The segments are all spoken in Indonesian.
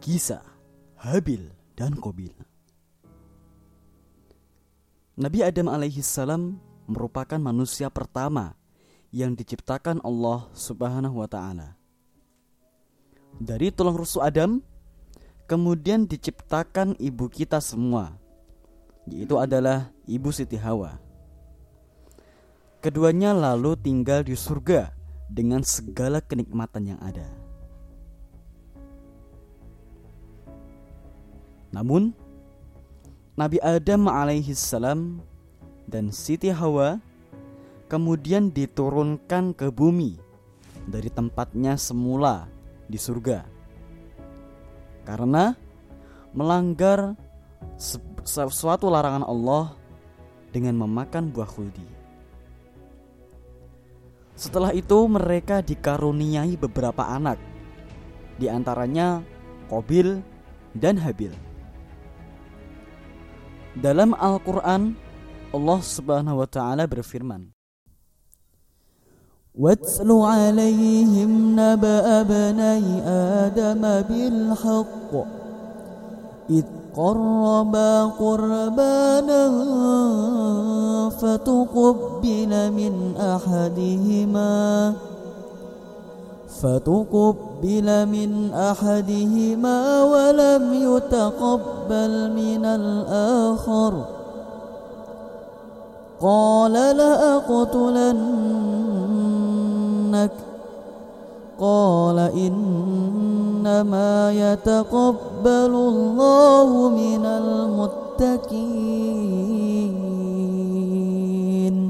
Kisah Habil dan Qabil. Nabi Adam alaihissalam merupakan manusia pertama yang diciptakan Allah Subhanahu wa ta'ala. Dari tulang rusuk Adam, kemudian diciptakan ibu kita semua, yaitu adalah Ibu Siti Hawa. Keduanya lalu tinggal di surga dengan segala kenikmatan yang ada. Namun, Nabi Adam alaihissalam dan Siti Hawa kemudian diturunkan ke bumi dari tempatnya semula di surga karena melanggar suatu larangan Allah dengan memakan buah khuldi. Setelah itu mereka dikaruniai beberapa anak, di antaranya Qabil dan Habil. Dalam Al-Quran, Allah Subhanahu wa ta'ala berfirman, "Watslu 'alaihim naba'a bani Adam bil haqq id qarraba qurbanan fatuqabbala min ahadihima wa lam yutaqabbal min al-akhar qala la aqtulannak qala innama yataqabbalu Allahu minal muttaqin."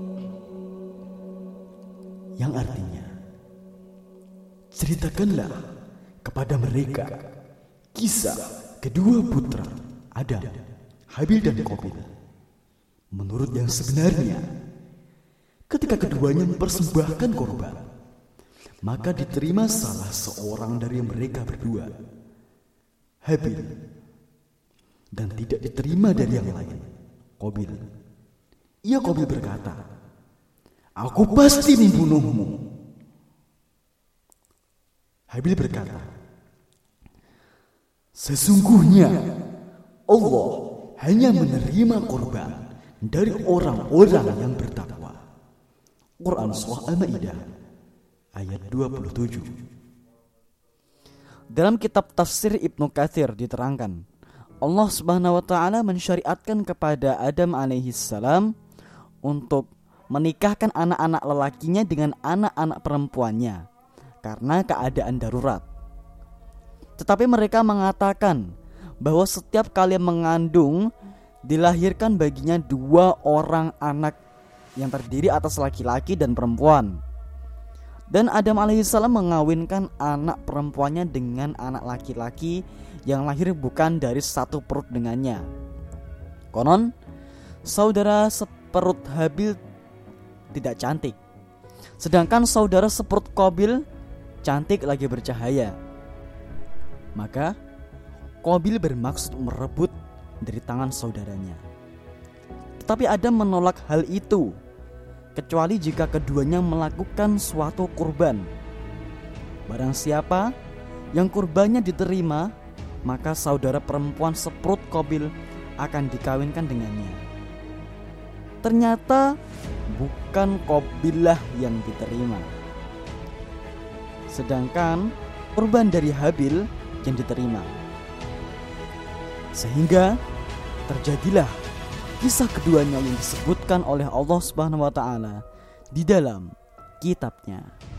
Yang artinya, ceritakanlah kepada mereka kisah kedua putra Adam, Habil dan Qabil. Menurut yang sebenarnya, ketika keduanya mempersembahkan korban, maka diterima salah seorang dari mereka berdua, Habil, dan tidak diterima dari yang lain, Qabil. Qabil berkata, "Aku pasti membunuhmu." Habil berkata, "Sesungguhnya Allah hanya menerima korban dari orang-orang yang bertakwa." Quran Surah Al-Maidah ayat 27. Dalam kitab tafsir Ibnu Katsir diterangkan, Allah Subhanahu wa ta'ala mensyariatkan kepada Adam alaihissalam untuk menikahkan anak-anak lelakinya dengan anak-anak perempuannya karena keadaan darurat. Tetapi mereka mengatakan bahwa setiap kali mengandung dilahirkan baginya 2 orang anak yang terdiri atas laki-laki dan perempuan. Dan Adam alaihissalam mengawinkan anak perempuannya dengan anak laki-laki yang lahir bukan dari satu perut dengannya. Konon, saudara seperut Habil tidak cantik, sedangkan saudara seperut Qabil cantik lagi bercahaya. Maka Qabil bermaksud merebut dari tangan saudaranya. Tetapi Adam menolak hal itu, kecuali jika keduanya melakukan suatu kurban. Barang siapa yang kurbannya diterima, maka saudara perempuan seperut Qabil akan dikawinkan dengannya. Ternyata bukan Qabillah yang diterima, sedangkan kurban dari Habil yang diterima. Sehingga terjadilah kisah keduanya yang disebutkan oleh Allah Subhanahu wa ta'ala di dalam kitabnya.